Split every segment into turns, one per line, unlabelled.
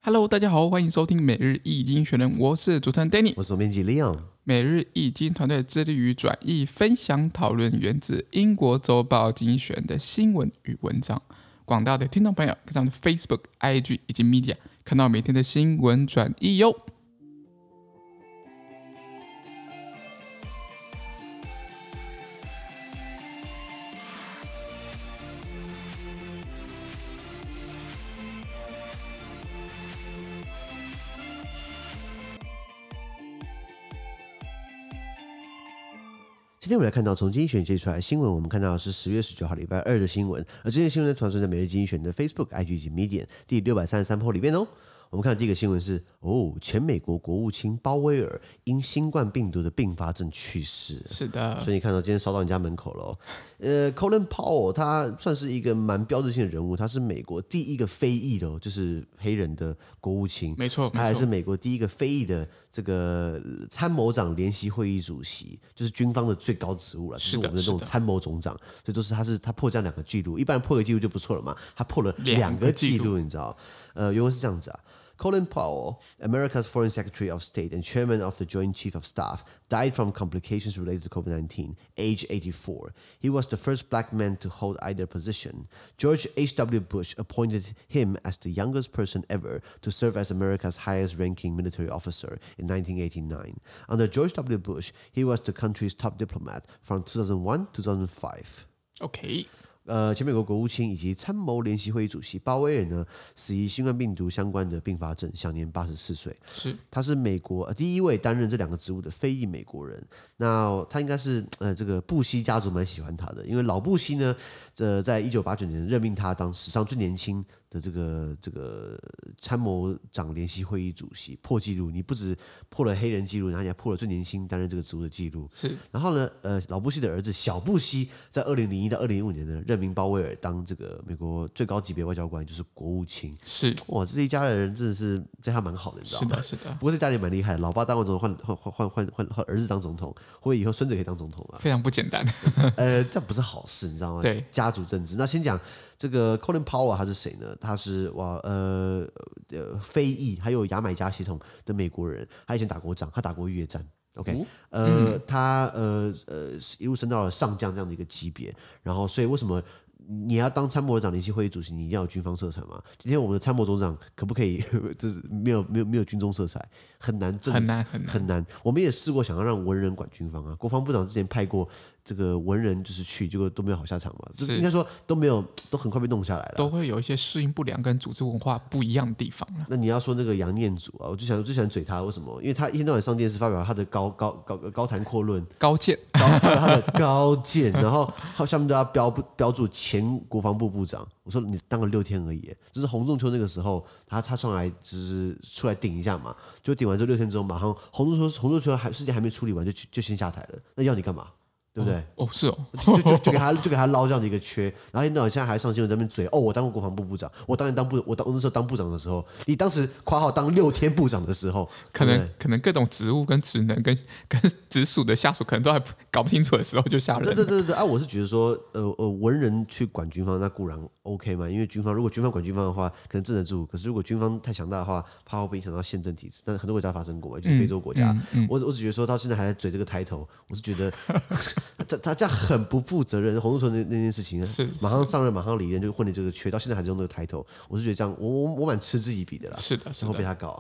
Hello， 大家好，歡迎收聽每日一經學人，我是主持人 Danny，
我是總編輯 Leon。每
日一經團隊致力於轉譯、分享、討論源自英國週報經濟學人的新聞與文章。廣大的聽眾朋友可以上 Facebook、IG 以及 Media 看到每天的新聞轉譯喲。
今天我們來看到從經濟學人接出來的新聞，我們看到的是10月19號禮拜二的新聞，而這些新聞呢傳送在每日經濟學人的 Facebook、IG 以及 Medium 第633 po 裡面哦。我們看到第一個新聞是前美國國務卿鮑威爾因新冠病毒的併發症去世。
是的，
所以你看到今天燒到你家門口了Colin Powell 他算是一個蠻標誌性的人物，他是美國第一個非裔的就是黑人的國務卿，
沒錯，
他還是美國第一個非裔的這個參謀長聯席會議主席，就是軍方的最高職務了，就是我們的那種參謀總長，所以都是他破這樣2個記錄，一般人破個記錄就不錯了嘛，他破了2個記錄，你知道？原文是這樣子啊。Colin Powell, America's Foreign Secretary of State and Chairman of the Joint Chief of Staff, died from complications related to COVID-19, age 84. He was the first black man to hold either position. George H.W. Bush appointed him as the youngest person ever to serve as America's highest-ranking military officer in 1989. Under George W. Bush, he was the country's top diplomat from 2001 to 2005.
OK。
前美國國務卿以及參謀聯席會議主席鮑威爾呢，死於新冠病毒相關的併發症，享年84歲。他是美國第一位擔任這2個職務的非裔美國人。那他應該是這個布希家族蠻喜歡他的，因為老布希呢，在1989年任命他當史上最年輕的這個參謀長聯席會議主席，破紀錄。你不止破了黑人紀錄，然後你還破了最年輕擔任這個職務的紀錄。然後呢，老布希的兒子小布希在2001到2015年呢，任命鮑威爾當這個美國最高級別外交官，就是國務卿。哇，這一家的人真的是對他蠻好的，你知道嗎？
是的。不
過這家裡蠻厲害的，老爸當完總統，換兒子當總統，或者以後孫子可以當總統啊，
非常不簡單。
這不是好事，你知道嗎？
對，
家族政治。那先講這個 Colin Powell 他是誰呢？他是非裔還有牙買加血統的美國人，他以前打過仗，他打過越戰。OK，他一路升到了上將這樣的一個級別，然後所以為什麼你要當參謀長聯席會議主席，你一定要有軍方色彩嘛？今天我們的參謀總長可不可以就是沒有軍中色彩？很難。我們也試過想要讓文人管軍方啊，國防部長之前派過這個文人就是去，結果都沒有好下場嘛。應該說都很快被弄下來了，都
會有一些適應不良跟組織文化不一樣的地方。那
你要說那個楊念祖啊，我最喜歡嘴他，為什麼？因為他一天到晚上電視發表他的高談闊論，
高見，
他的高見，然後他下面都要標注前國防部部長。我說你當了6天而已，就是洪仲丘那個時候，他上來只是出來頂一下嘛，就頂完這6天之後，馬上洪仲丘事情還沒處理完就先下台了，那要你幹嘛？對不對？
是哦，
就給他撈這樣的一個缺，然後現在還上新聞在那邊嘴我當過國防部部長，我那時候當部長的時候，你當時括號當6天部長的時候，
可能各種職務跟職能跟直屬的下屬可能都還搞不清楚的時候就下任。
對啊，我是覺得說文人去管軍方那固然 OK 嘛，因為如果軍方管軍方的話，可能鎮得住，可是如果軍方太強大的話，怕會影響到憲政體制。但是很多國家發生過嘛，就是非洲國家。我只覺得說到現在還在嘴這個抬頭，我是覺得。他這樣很不負責任，洪仲丘那件事情馬上上任馬上離任就混了這個缺，到現在還是用那個抬頭，我是覺得這樣我蠻嗤之以鼻的啦。是的，然後被他搞。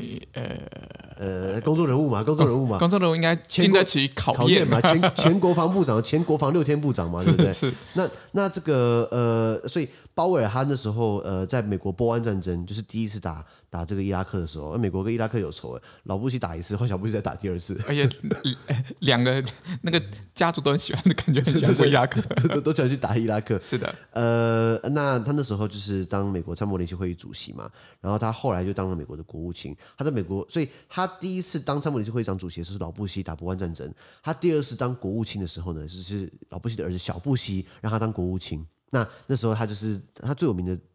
公眾人物嘛，公眾人物應該經得起考驗嘛，前國防部長，前國防6天部長嘛，對不對？那這個所以鮑威爾他那時候在美國波灣戰爭就是第一次打這個伊拉克的時候，美國跟伊拉克有仇，老布希打1次，換小布希再打第2次，
而且2個那個家族都很喜歡的感覺，很喜歡過伊拉克，
都想去打伊拉克。
是的，
那他那時候就是當美國參謀聯席會議主席嘛，然後他後來就當了美國的國務卿。他在美國，所以他第一次當參谋聯席會議長主席的時候是老布希打波灣戰爭，他第2次當國務卿的時候呢，就是老布希的兒子小布希讓他當國務卿。那時候他最有名的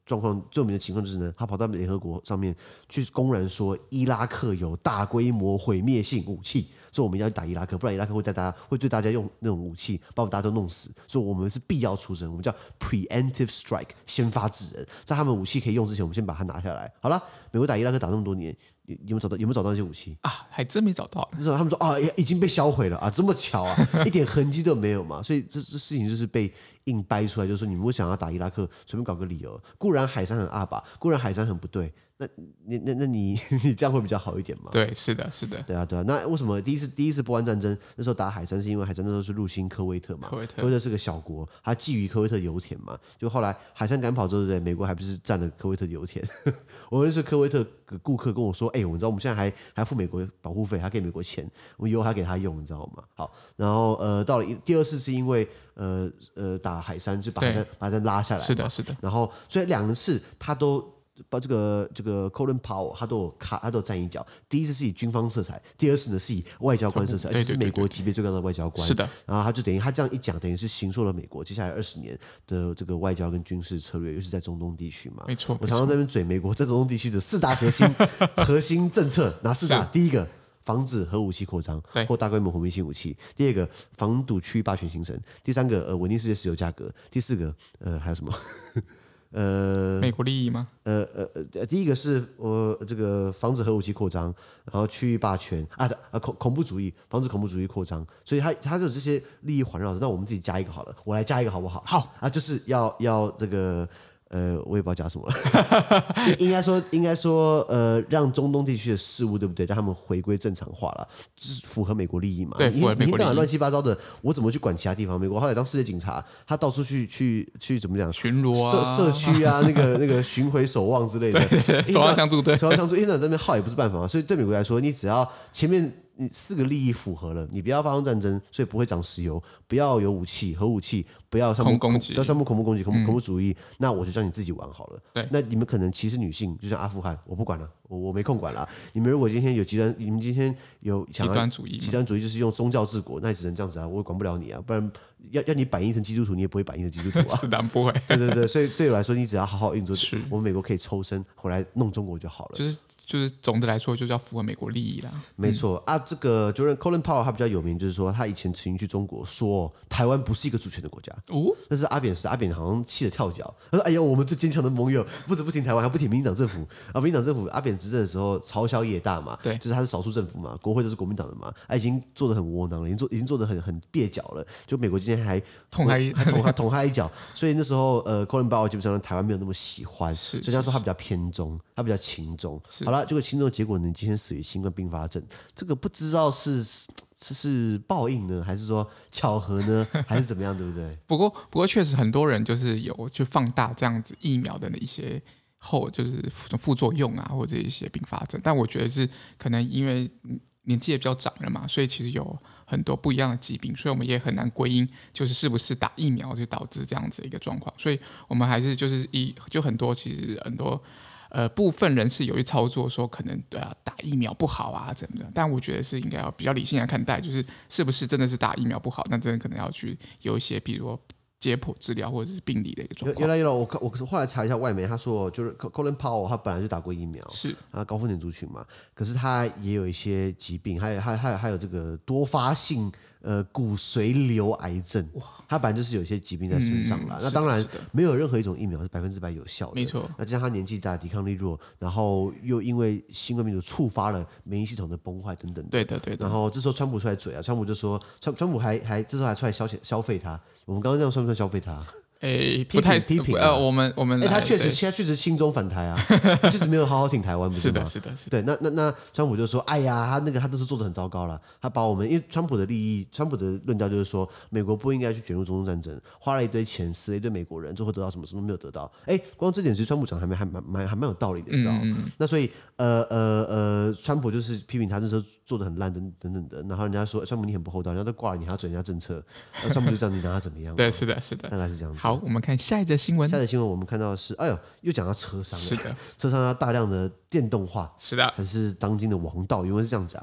狀況最有名的情況就是呢，他跑到聯合國上面去公然說伊拉克有大規模毀滅性武器，所以我們要去打伊拉克，不然伊拉克會對大家用那種武器把我們大家都弄死，所以我們是必要出征，我們叫 preemptive strike 先發制人，在他們武器可以用之前，我們先把它拿下來。好了，美國打伊拉克打那麼多年，有沒有找到那些武器
啊？還真沒找到。
那时候他們說啊，已經被銷毀了啊，這麼巧啊，一點痕跡都沒有嘛，所以這事情就是被硬掰出來，就是說你们會想要打伊拉克，隨便搞個理由。固然海珊很阿爸，固然海珊很不對，那你這樣會比較好一點嘛？
對，是的，是的，
對啊。那為什麼第一次波灣戰爭那時候打海珊，是因為海珊那時候是入侵科威特嘛？科威特是個小國，它覬覦科威特油田嘛。就後來海珊趕跑之後，對，美國還不是占了科威特油田？我認識科威特顧客跟我說，我知道我們現在還要付美國保護費，還給美國錢，我們以後還給他用，你知道嗎？好，然後到了第二次是因為打海珊，就把海珊拉下來，
是的，是的。
然後所以兩次他都把这個 Colin Powell 他都有站一腳。第一次是以軍方色彩，第二次呢是以外交官色彩，而且是美國級別最高的外交官。
是的。
然後他就等於他這樣一講，等於是形塑了美國接下來20年的這個外交跟軍事策略，尤其是在中東地區嘛。
沒錯。
我常常在那邊嘴美國在中東地區的4大核心政策，哪4大？第一個，防止核武器擴張或大規模毀滅性武器；第二個，防堵區域霸權形成；第三個，穩定世界石油價格；第四個，還有什麼？
美國利益嗎？
第一個是這個防止核武器擴張，然後區域霸權恐怖主義，防止恐怖主義擴張，所以它就有這些利益環繞着。那我們自己加一個好了，我來加一個好不好？
好
啊，就是要這個。我也不知道講什麼了應該說，讓中東地區的事務，對不對？讓他們回歸正常化了，就是符合美國利益嘛。
對，符合美國利益。
你亂七八糟的，我怎麼去管其他地方？美國後來當世界警察，他到處去怎麼講？巡邏啊，社區啊，那個巡迴守望之類的，
守望相助，對，
守望相助。因為在那邊耗也不是辦法嘛，所以對美國來說，你只要前面。你4個利益符合了，你不要發動戰爭，所以不會漲石油，不要有武器、核武器，不要恐怖攻擊、恐怖主義，那我就讓你自己玩好了。
對，
那你們可能歧視女性，就像阿富汗，我不管了，我沒空管了。你們如果今天有你們今天有極端主義就是用宗教治國，那也只能這樣子啊，我也管不了你啊，不然要你反映成基督徒，你也不會反映成基督徒啊。
是的，不会。
對，所以對我來說，你只要好好運作，我們美國可以抽身回來弄中國就好了。
就是總的來說，就是要符合美國利益啦。
沒錯啊，這個 Colin Powell 他比較有名，就是說他以前曾經去中國說台灣不是一個主權的國家。但是阿扁好像氣得跳腳，他說：“哎呦，我們最堅強的盟友不止不挺台灣，還不挺民進黨政府啊！民進黨政府阿扁執政的時候朝小野大嘛，對，就是他是少數政府嘛，國會都是國民黨的嘛，已經做得很窩囊了，已經做得很蹩腳了。就美國今天還捅他一腳，所以那時候Colin Powell 基本上台灣沒有那麼喜歡，所以他說他比較偏中，他比較親中。好了，結果親中的結果呢，今天死於新冠併發症，這個不知道是報應呢，還是說巧合呢，還是怎麼樣，對不對？
不過確實很多人就是有去放大這樣子疫苗的一些就是副作用啊，或者一些併發症。但我覺得是可能因為年紀也比較長了嘛，所以其實有很多不一樣的疾病，所以我們也很難歸因，就是是不是打疫苗就導致這樣子的一個狀況。所以我們還是就是很多其實很多。部分人是有去操作說可能打疫苗不好啊怎麼的，但我覺得是應該要比較理性來看待，就是是不是真的是打疫苗不好，那真的可能要去有一些比如說解剖治療或者是病理的一個狀況。
原來我後來查一下外媒，他說就是 Colin Powell 他本來就打過疫苗，是啊，高風險族群嘛，可是他也有一些疾病，還有這個多發性骨髓瘤癌症，他本來就是有一些疾病在身上啦。那當然沒有任何一種疫苗是100%有效的，沒錯。那加上他年紀大，抵抗力弱，然後又因為新冠病毒觸發了免疫系統的崩壞等等。對的。然後這時候川普出來嘴啊，川普就說川普還這時候還出来消費他。我們剛剛這樣算不算消費他？不太批評
我們
他確實親中反台啊，就是沒有好好挺台灣，不是嗎？
是的。
對，那川普就說，哎呀，他都是做得很糟糕了，他把我們因為川普的利益，川普的論調就是說，美國不應該去捲入中東戰爭，花了一堆錢，死了一堆美國人，最後得到什麼沒有得到。光這點其實川普講還蠻有道理的，你知道嗎？那所以川普就是批評他那時候做得很爛等等的，然後人家說川普你很不厚道，人家都掛了你還要嘴人家政策，那川普就這樣，你拿他怎麼樣？
對，是的，大
概是這樣子。
好，我們看下一則新聞。
下一則新聞我們看到的是，又講到車商了。
是的，
車商要大量的電動化，
是的，
還是當今的王道？因為是這樣子啊。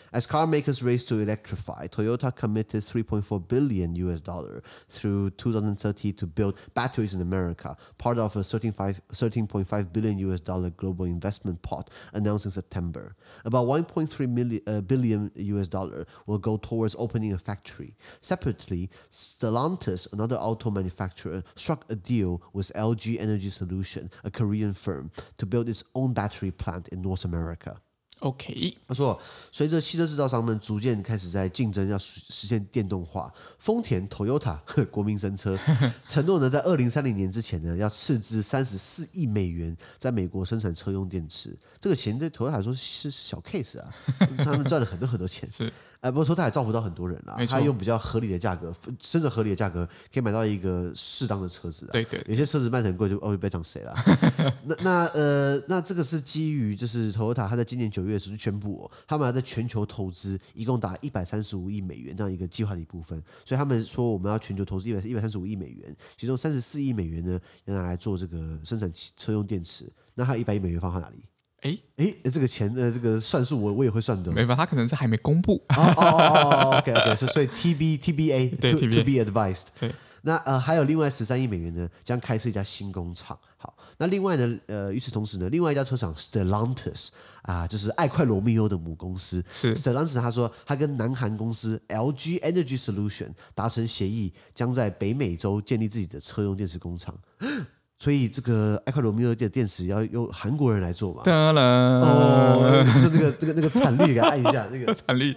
As car makers race to electrify, Toyota committed $3.4 billion through 2030 to build batteries in America, part of a $13.5 billion global investment pot announced in September. About $1.3 billion will go towards opening a factory. Separately, Stellantis, another auto manufacturer, struck a deal with LG Energy Solution, a Korean firm, to build its own battery plant in North America.
OK，
他说，随着汽车制造商们逐渐開始在競爭，要實現電動化，豐田 Toyota 國民神車承諾呢，在2030年之前呢，要斥資34億美元在美國生產車用電池。這個錢對 Toyota 來說是小 case 啊，他們賺了很多錢。是，不過 Toyota 也造福到很多人啦，他用比較合理的價格，真正合理的價格可以買到一個適當的車子啊。對，有些車子賣得很貴，就不要講誰了。那這個是基於就是 Toyota 他在今年9月時就宣布他們要在全球投資一共達135億美元這樣一個計劃的一部分，所以他們說我們要全球投資135億美元，其中34億美元呢要拿來做這個生產車用電池，那還有100億美元放在哪裡？這個錢這個算數我也會算的，
沒辦法，他可能是還沒公布。
OK， 所以 TBA
對
to be advised。
對，
那還有另外13億美元呢，將開設一家新工廠。好，那另外呢，與此同時呢，另外一家車廠 Stellantis 就是愛快羅密歐的母公司。是 Stellantis 他說，他跟南韓公司 LG Energy Solution 達成協議，將在北美洲建立自己的車用電池工廠。所以這個愛快羅密歐的電池要由韓國人來做嘛？當然就那個產率給他按一下，那個產率。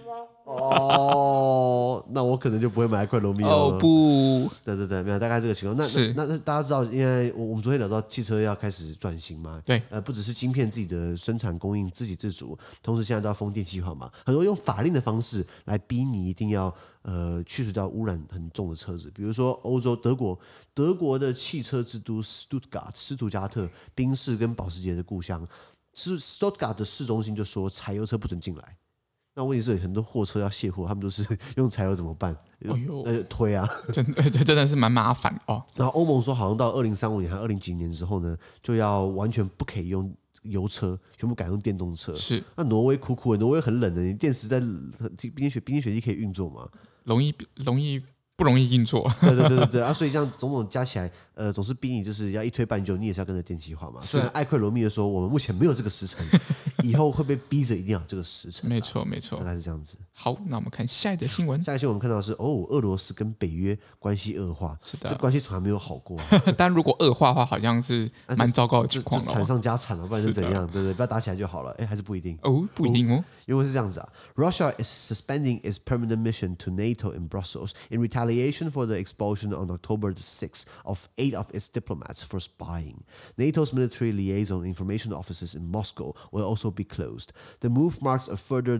那我可能就不會買愛快羅密歐了。不，對，沒有，大概這個情況。那大家知道，因為我們昨天聊到汽車要開始轉型嘛，對，不只是晶片自己的生產供應自給自足，同時現在都要風電計劃嘛，很多用法令的方式來逼你一定要去除掉污染很重的車子，比如說歐洲德國的汽車之都 Stuttgart 斯圖加特，賓士跟保時捷的故鄉，Stuttgart 的市中心就說柴油車不准進來。那問題是很多貨車要卸貨，他們都是用柴油怎麼辦？推啊，真
的是蠻麻煩哦。
然後歐盟說，好像到2035年還20幾年之後呢，就要完全不可以用油車，全部改用電動車。是，那挪威苦的，挪威很冷的，你電池在冰天雪地可以運作嗎？
容易不容易運作？
對所以這樣種種加起來，總是逼你就是要一推半就，你也是要跟着電氣化嘛。是愛快羅密歐說，我們目前沒有這個時程。以後會被逼着一定要有這個時程。沒錯，大概是這樣子。好，那我們看下一則新聞。下一則新聞我們看到的是俄羅斯跟北約關係惡化。是的，這關係從來沒有好過。
但如果惡化的話，好像是蠻糟糕的情況。就
慘上加慘了，不然是怎樣？對，不要打起來就好了。還是不一定。
不一定哦。
因為是這樣子啊 ，Russia is suspending its permanent mission to NATO in Brussels in retaliation for the expulsion on October 6th of 8 of its diplomats for spying. NATO's military liaison information offices in Moscow will also be closed. The move marks a further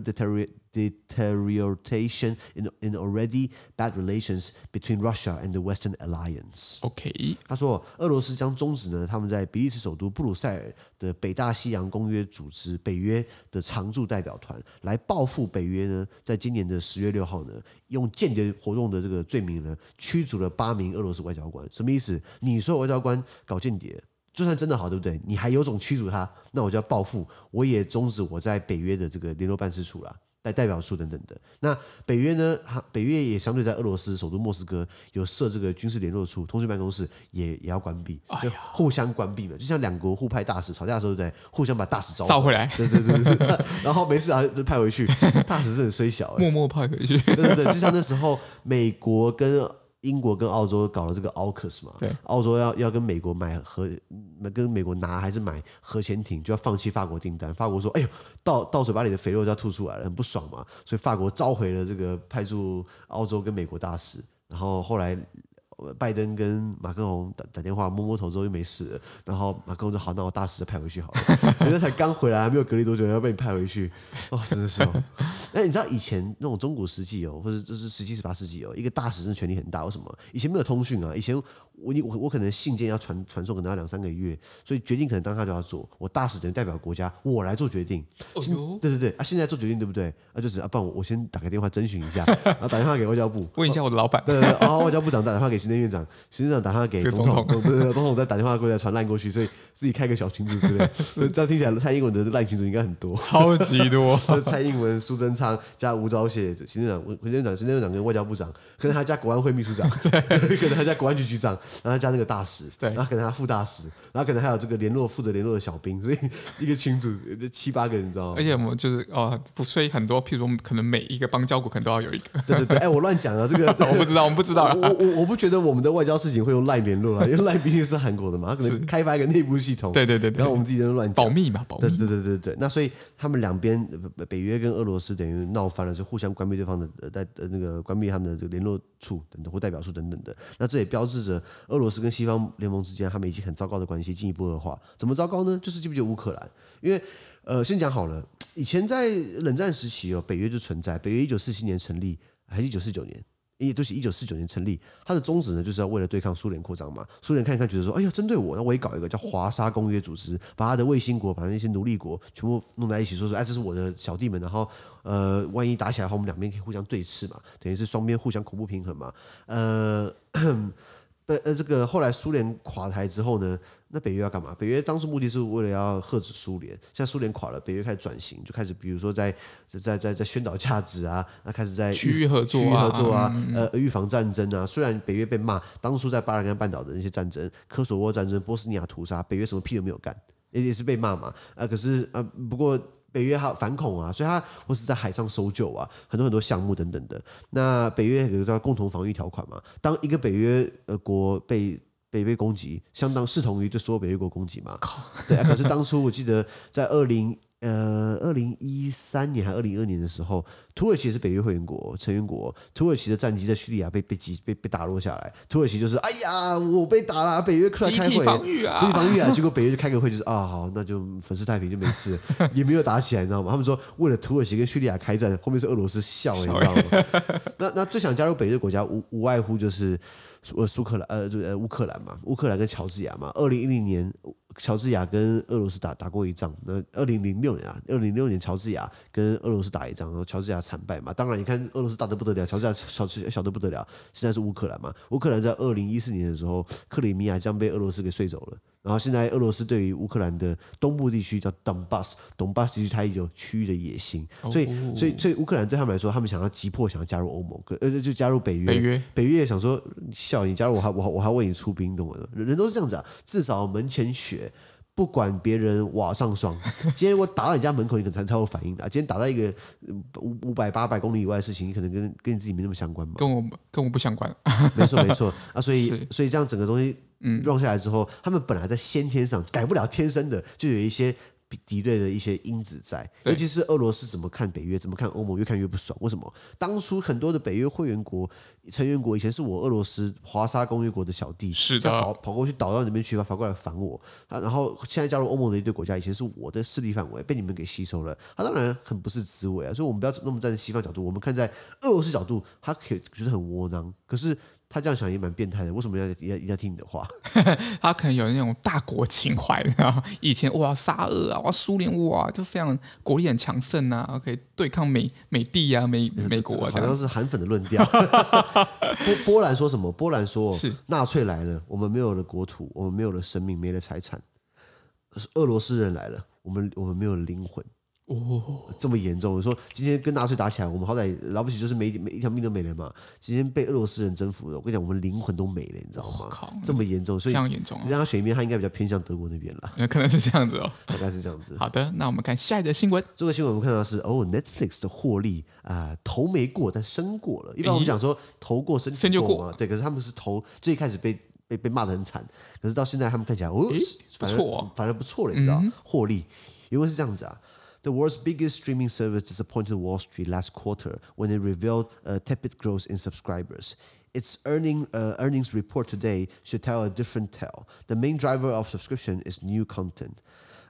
deterioration in already bad relations between Russia and the Western Alliance. OK， 他說，俄羅斯將終止呢他們在比利時首都布魯塞爾的北大西洋公約組織北約的常駐代表團，來報復北約呢，在今年的10月6號呢，用間諜活動的這個罪名呢，驅逐了8名俄羅斯外交官。什麼意思？你說外交官搞間諜？就算真的好，對不對？你還有種驅逐他，那我就要報復，我也終止我在北約的這個聯絡辦事處啦、代表處等等的。那北約呢？北約也相對在俄羅斯首都莫斯科有設這個軍事聯絡處、通訊辦公室也要關閉，就互相關閉嘛。就像兩國互派大使吵架的時候，對不對？互相把大使召回來，對，然後沒事啊就派回去。大使是很衰小，
默默派回去。
對，就像那時候美國跟英國跟澳洲搞了這個 AUKUS 嘛，對，澳洲要跟美國跟美國拿還是買核潛艇，就要放棄法國訂單。法國說：“哎呦，到嘴巴裡的肥肉就要吐出來了，很不爽嘛。”所以法國召回了這個派駐澳洲跟美國大使。然後後來拜登跟馬克宏打電話摸頭之後就沒事了，然後馬克宏就好，那我大使就派回去好了。人家才剛回來，還沒有隔離多久，要被你派回去，真的是哦。你知道以前那種中古世紀或者就是17、18世紀一個大使真的權力很大。為什麼？以前沒有通訊啊，以前我可能信件要傳送，可能要2-3個月，所以決定可能當下就要做。我大使等於代表國家，我來做決定。對啊，現在做決定對不對？就是不然我先打個電話徵詢一下，然後打電話給外交部，
問一下我的老闆。
對，外交部長打電話給行政院長，行政長打電話給總統，總統再打電話過來傳爛過去，所以自己開個小群組之類。所以這樣聽起來，蔡英文的爛群組應該很多，超級多。蔡英文、蘇貞昌加吳釗燮，行政院長跟外交部長，可能還加國安會秘書長，可能還加國安局局長，然後加那個大使，然後可能還副大使，然後可能還有這個負責聯絡的小兵，所以一個群組7-8個人，你知道嗎？
而且我們就是不所以很多，譬如我們可能每一個邦交國可能都要有一個。
對，我亂講了，這個
我不知道，
我不覺得我們的外交事情會用LINE聯絡啊，因為LINE畢竟是韓國的嘛，他可能開發一個內部系統，對，然後我們自己在那亂講，
保密嘛，保密。
對，那所以他們兩邊北約跟俄羅斯等於鬧翻了，就互相關閉對方的那個關閉他們的這個聯絡處等等或代表處等等的，那這也標誌着俄羅斯跟西方聯盟之間他們已經很糟糕的關係進一步惡化。怎麼糟糕呢？就是記不記得烏克蘭？因為先講好了，以前在冷戰時期北約就存在，北約1947年成立，還是1949年？也都是1949年成立，它的宗旨呢，就是要為了對抗蘇聯擴張嘛。蘇聯看一看，覺得說，哎呀，針對我，那我也搞一個叫華沙公約組織，把他的衛星國，把那些奴隸國全部弄在一起，說，哎，這是我的小弟們，然後萬一打起來的話，我們兩邊可以互相對峙嘛，等於是雙邊互相恐怖平衡嘛。這個後來蘇聯垮台之後呢，那北約要幹嘛？北約當初目的是為了要遏制蘇聯，現在蘇聯垮了，北約開始轉型，就開始比如說在宣導價值啊，那開始在
區域合作啊，
預防戰爭啊。雖然北約被罵，當初在巴爾幹半島的那些戰爭，科索沃戰爭、波斯尼亞屠殺，北約什麼屁都沒有幹，也是被罵嘛。可是不過。北約還有反恐啊，所以它或是在海上搜救啊，很多項目等等的。那北約有一個共同防禦條款嘛，當一個北約國被攻擊，相當視同於對所有北約國攻擊嘛。對啊，可是當初我記得在2013年還2022年的時候，土耳其也是北約會員國成員國，土耳其的戰機在敘利亞被打落下來，土耳其就是哎呀我被打了，北約出來開會，集體防禦啊，結果北約就開個會就是好，那就粉飾太平就沒事，也沒有打起來，你知道嗎？他們說為了土耳其跟敘利亞開戰，後面是俄羅斯笑，你知道嗎？那最想加入北約的國家無外乎就是烏克蘭嘛，烏克蘭跟喬治亞嘛，2010年。喬治亞跟俄羅斯打過一仗，那2006年喬治亞跟俄羅斯打一仗，然後喬治亞慘敗嘛。當然，你看俄羅斯打得不得了，喬治亞小得不得了。現在是烏克蘭嘛，烏克蘭在2014年的時候，克里米亞將被俄羅斯給睡走了。然後現在俄羅斯對於烏克蘭的東部地區叫 Donbass 地區，它也有區域的野心，所以烏克蘭對他們來說，他們急迫想要加入歐盟，就加入北約。北約也想說，笑你加入我還為你出兵，懂嗎？人都是這樣子啊，至少門前雪。不管別人瓦上霜，今天我打到你家門口，你可能才有反應的。今天打到一個500-800公里以外的事情，你可能跟你自己沒那麼相關嘛。跟我不相關。沒錯啊，所以這樣整個東西讓下來之後，他們本來在先天上改不了天生的，就有一些敵對的一些因子在，尤其是俄羅斯怎麼看北約，怎麼看歐盟，越看越不爽。為什麼？當初很多的北約會員國、成員國以前是我俄羅斯華沙公約國的小弟，是的，跑過去倒到那邊去，反過來反我。然後現在加入歐盟的一堆國家，以前是我的勢力範圍，被你們給吸收了。他當然很不是滋味啊。所以我們不要那麼站在西方角度，我們看在俄羅斯角度，他可以覺得很窩囊，可是。他這樣想也蠻變態的，為什麼一定要聽你的話？
他可能有那種大國情懷，然後以前哇沙俄啊，哇蘇聯哇就非常國力很強盛啊，可以對抗美帝啊、美國啊，
好像是韓粉的論調。波蘭說什麼？波蘭說是納粹來了，我們沒有了國土，我們沒有了生命，沒了財產。俄羅斯人來了，我們沒有了靈魂。這麼嚴重？我說今天跟納粹打起來，我們好歹了不起就是每一條命都沒了嘛。今天被俄羅斯人征服了，我跟你講，我們靈魂都沒了，你知道嗎？這麼嚴重，所以非常嚴重。讓他選一面，他應該比較偏向德國那邊了。
可能是這樣子哦，
大概是這樣子。
好的，那我們看下一則新聞。
這個新聞我們看到是Netflix 的獲利頭沒過，但身過了。一般我們講說頭過身就過嘛，對。可是他們是頭最開始被罵得很慘，可是到現在他們看起來反而不錯了，你知道？獲利原文是這樣子啊。The world's biggest streaming service disappointed Wall Street last quarter when it revealed a tepid growth in subscribers. Its earnings report today should tell a different tale. The main driver of subscription is new content.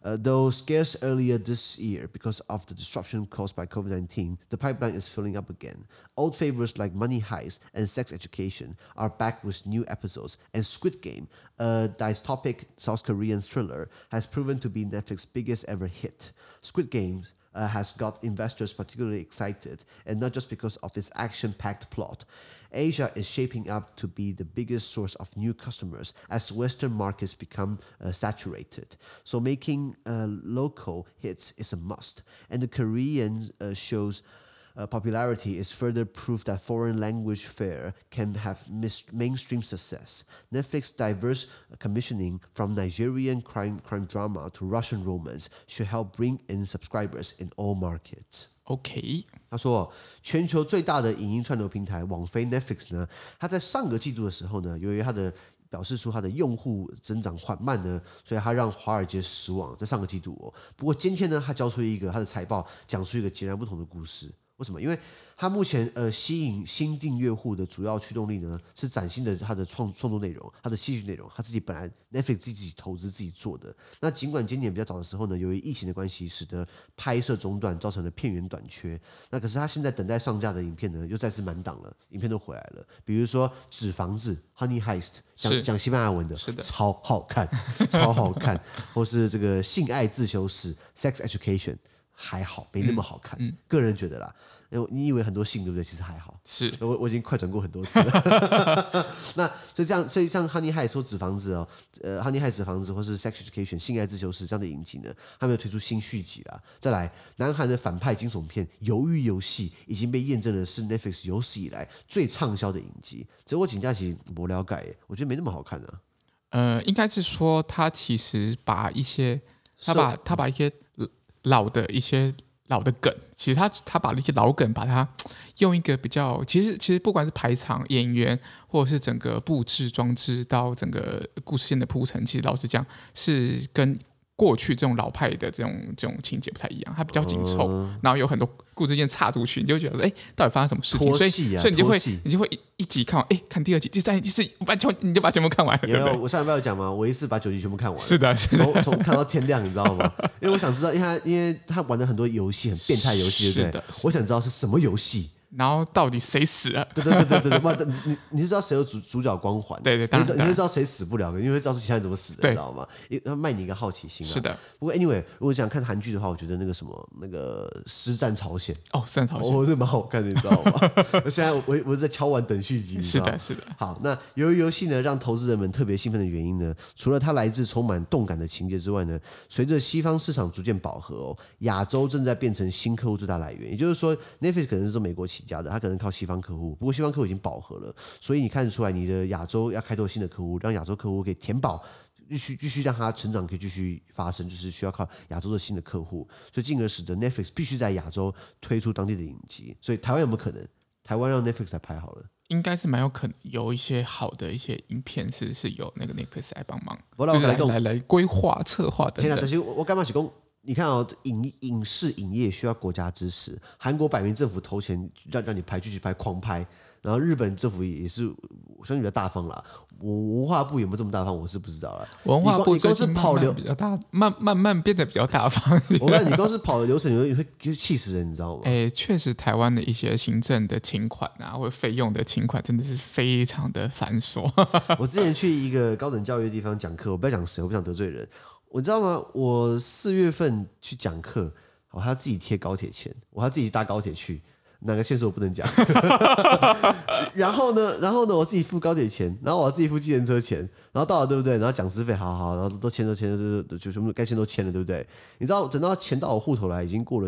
Though scarce earlier this year because of the disruption caused by COVID-19, the pipeline is filling up again. Old favorites like Money Heist and Sex Education are back with new episodes, and Squid Game, a dystopic South Korean thriller, has proven to be Netflix's biggest ever hit. Squid Game has got investors particularly excited, and not just because of its action-packed plot. Asia is shaping up to be the biggest source of new customers as Western markets become saturated. So making local hits is a must. And the Korean show's popularity is further proof that foreign language fare can have mainstream success. Netflix's diverse commissioning from Nigerian crime drama to Russian romance should help bring in subscribers in all markets.
OK，
他说，全球最大的影音串流平台网飞 Netflix 呢，它在上个季度的时候呢，由于它的表示出它的用户增長緩慢呢，所以它讓華爾街失望。在上個季度哦，不過今天呢，它交出一個它的財報，講出一個截然不同的故事。為什麼？因為它目前吸引新訂閱戶的主要驅動力呢，是嶄新的它的創作內容，它的戲劇內容，它自己本來 Netflix 自己投資自己做的。那儘管今年比較早的時候呢，由於疫情的關係，使得拍攝中斷，造成了片源短缺。那可是它現在等待上架的影片呢，又再次滿檔了，影片都回來了。比如說《紙房子》（Honey Heist），講西班牙文的，超好看，超好看。或是這個《性愛自修室》（Sex Education）。還好，沒那麼好看。個人覺得啦，你以為很多性對不對？其實還好。是，我已經快轉過很多次了。那所以像 Honey Heist 或紙房子哦，Honey Heist 紙房子或是 Sex Education 性愛自修室這樣的影集呢，他們有推出新續集啦。再來，南韓的反派驚悚片《魷魚遊戲》已經被驗證了是 Netflix 有史以來最暢銷的影集。只我請假期沒了解，我覺得沒那麼好看啊。
應該是說他其實把一些他把一些老的梗，其實他把那些老梗，把它用一個比較，其實不管是排場、演員，或者是整個布置裝置到整個故事線的鋪陳，其實老實講是跟過去這種老派的這種情節不太一樣，它比較緊湊，然後有很多故事線插出去，你就會覺得到底發生什麼事情？所以你就會一集看完，看第二集、第三集、第四集，你就把全部看完了。
有，我上禮拜有講嘛，我一次把9集全部看完了。
是的，
從看到天亮，你知道嗎？因為我想知道，因為他玩了很多遊戲，很變態遊戲，對不對？我想知道是什麼遊戲。然
後到底誰死了？
對，你就知道誰有主角光環，對，你就知道誰死不了，你會知道是其他人怎麼死的，你知道嗎？要賣你一個好奇心啊。是的。不過 anyway， 如果想看韓劇的話，我覺得那個師戰朝鮮
師戰朝鮮，
這蠻好看的，你知道嗎？現在我在敲碗等續集。
是的。
好，那由於遊戲呢，讓投資人們特別興奮的原因呢，除了它來自充滿動感的情節之外呢，隨着西方市場逐漸飽和哦，亞洲正在變成新客戶最大來源。也就是說 ，Netflix 可能是從美國起家的，它可能靠西方客戶，不過西方客戶已經飽和了，所以你看得出來，你的亞洲要開拓新的客戶，讓亞洲客戶可以填飽，繼續讓它成長，可以繼續發生，就是需要靠亞洲的新的客戶，所以進而使得 Netflix 必須在亞洲推出當地的影集。所以台灣有沒有可能？台灣讓 Netflix 來拍好了？應該是蠻有可能，有一些好的一些影片是由那個 Netflix 來幫忙，就是來規劃、策劃等等。但是我幹嘛是講？你看哦，影視影業需要國家支持。韓國擺明政府投錢讓你拍，繼續拍，狂拍。然後日本政府也是相對比較大方啦。文化部有沒有這麼大方，我是不知道啦。文化部最近慢慢比較大，慢慢變得比較大方。我看你光是跑的流程，你會氣死人，你知道嗎？確實，台灣的一些行政的請款啊，或者費用的請款，真的是非常的繁瑣。我之前去一個高等教育的地方講課，我不要講誰，我不想得罪人。我知道嗎？我4月份去講課，我還要自己貼高鐵錢，我還要自己搭高鐵去，哪個縣市我不能講。然後呢，我自己付高鐵錢，然後我要自己付計程車錢，然後到了對不對？然後講師費好，然後都簽，就全部該簽都簽了，對不對？你知道等到錢到我戶頭來，已經過了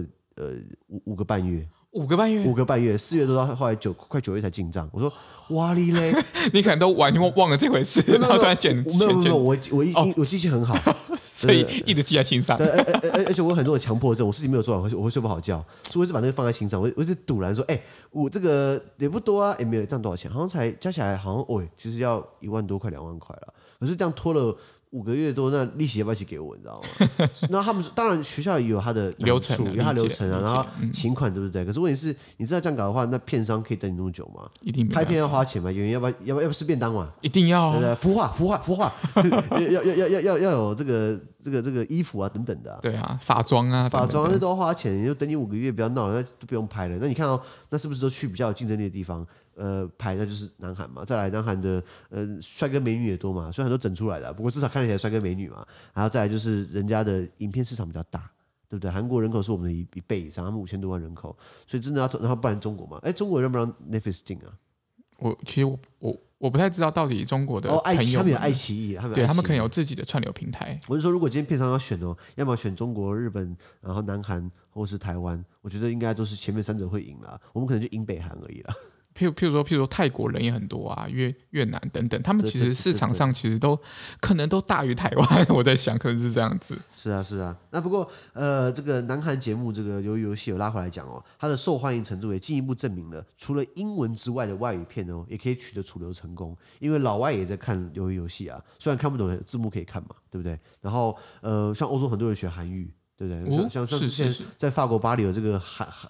5個半月。5個半月，4月多到後來快9月才進賬。我說哇哩嘞，你可能都完全忘了這回事，然後突然減。沒有，我記性很好，所以一直記在心上。而且我有很多的強迫症，我事情沒有做完，我會睡不好覺，所以我一直把那個放在心上。我一直賭爛說，我這個也不多啊，也沒有這樣多少錢，好像才加起來好像其實要1萬多塊2萬塊了。可是這樣拖了5個月多，那利息要不要一起給我？你知道嗎？然後他們當然學校也有他的流程，有他流程啊，然後請款對不對？可是問題是，你知道這樣搞的話，那片商可以等你那麼久嗎？一定拍片要花錢嘛，演員要不要吃便當嘛？一定要，對不對？孵化，要有這個這個衣服啊等等的、啊。
對啊，化妝啊，
化妝那都要花錢，你就等你5個月不要鬧了，那都不用拍了。那你看哦，那是不是都去比較有競爭力的地方？拍那就是南韓嘛。再來，南韓的帥哥美女也多嘛，雖然很多整出來的、啊，不過至少看起來帥哥美女嘛。然後再來就是人家的影片市場比較大。對不對？韓國人口是我們的一倍以上，他們5000多萬人口，所以真的要，然後不然中國嘛？哎，中國讓不讓 Netflix 進啊？
其實我不太知道到底中國的朋友
他們有愛奇藝，
他们可能有自己的串流平台。
我是說，如果今天片商要選哦，要麼選中國、日本，然後南韓或是台灣，我覺得應該都是前面3者會贏啦，我們可能就贏北韓而已啦。譬
如說泰國人也很多啊，越南等等，他們其實市場上其實都可能都大於台灣，我在想可能是這樣子。
是啊。那不過這個南韓節目這個魷魚遊戲有拉回來講哦，它的受歡迎程度也進一步證明了，除了英文之外的外語片哦，也可以取得主流成功。因為老外也在看魷魚遊戲啊，雖然看不懂字幕可以看嘛，對不對？然後像歐洲很多人學韓語。對不對？像之前在法國巴黎有這個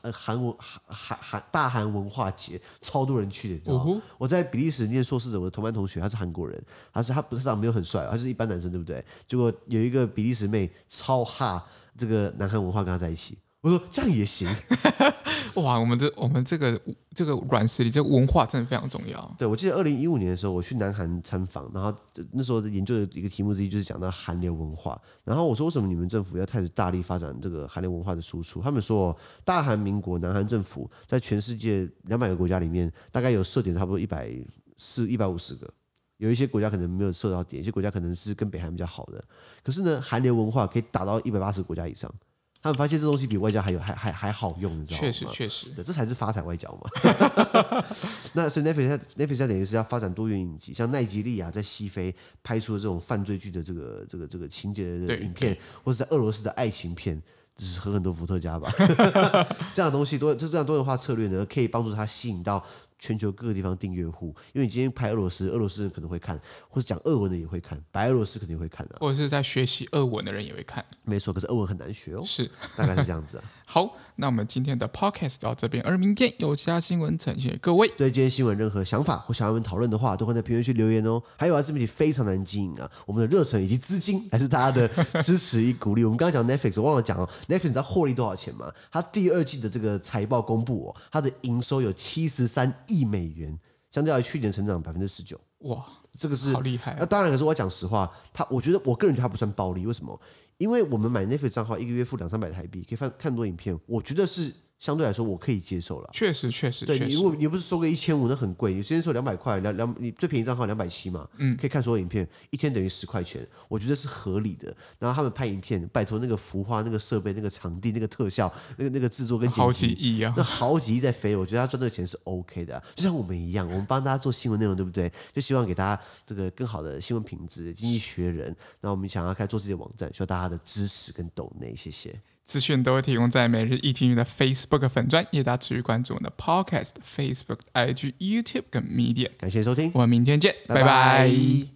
大韓文化節，超多人去的，你知道嗎？我在比利時念碩士的，我的同班同學他是韓國人，他不是長得沒有很帥，他就是一般男生，對不對？結果有一個比利時妹超哈這個南韓文化，跟他在一起。我說這樣也行，
哇！我們這個軟實力，這個文化真的非常重要。
對，我記得2015年的時候，我去南韓參訪，然後那時候研究的一個題目之一就是講到韓流文化。然後我說，為什麼你們政府要開始大力發展這個韓流文化的輸出？他們說，大韓民國南韓政府在全世界200個國家裡面，大概有設點差不多150個。有一些國家可能沒有設到點，有些國家可能是跟北韓比較好的。可是呢，韓流文化可以達到180個國家以上。他們發現這東西比外交還好用，你知道嗎？
確實，
對，這才是發財外交嘛。那所以 Netflix 等於是要發展多元影集，像奈及利亞在西非拍出的這種犯罪劇的這個情節的影片，或者在俄羅斯的愛情片，就是喝很多伏特加吧。這樣的東西就這樣多元化策略呢，可以幫助他吸引到全球各個地方訂閱戶，因為你今天拍俄羅斯人可能會看，或者講俄文的也會看，白俄羅斯肯定會看啊，
或者是在學習俄文的人也會看。
沒錯，可是俄文很難學哦。
是，
大概是這樣子啊。
好，那我們今天的 podcast 到這邊，而明天有其他新聞呈現給各位。
對今天新聞任何想法或想要我們討論的話，都會在評論區留言哦。還有啊，自媒體非常難經營啊，我們的熱忱以及資金還是大家的支持與鼓勵。我們剛剛講 Netflix， 我忘了講哦 ，Netflix 知道獲利多少錢嗎？它第2季的這個財報公布哦，它的營收有73億美元。相較於去年成長19%，哇，這個是
好厲害啊！
那當然，可是我講實話，我覺得我個人覺得它不算暴利，為什麼？因為我們買 Netflix 賬號，1個月付200-300台幣，可以看很多影片，我覺得是相對來說我可以接受了。
確實，
對，如果你不是收個1500，那很貴。你之前說200塊，你最便宜賬號270嘛，可以看所有影片，一天等於10塊錢，我覺得是合理的。然後他們拍影片，拜託那個服化、那個設備、那個場地、那個特效、那個製作跟剪輯，
好幾億啊，
那好幾億在飛，我覺得他賺這個錢是 OK 的、啊。就像我們一樣，我們幫大家做新聞內容，對不對？就希望給大家這個更好的新聞品質。經濟學人，那我們想要開始做自己的網站，需要大家的支持跟抖內，謝謝。
資訊都會提供在每日一經濟的 Facebook 粉專，也大家持續關注我們的 Podcast、Facebook、IG、YouTube 跟 Media。
感謝收聽，
我們明天見，拜拜。